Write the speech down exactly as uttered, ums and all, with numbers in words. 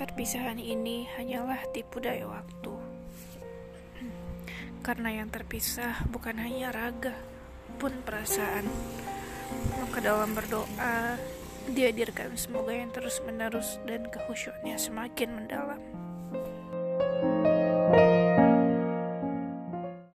Perpisahan ini hanyalah tipu daya waktu. Karena yang terpisah bukan hanya raga, pun perasaan. Maka dalam berdoa, dihadirkan semoga yang terus-menerus dan kehusyuknya semakin mendalam.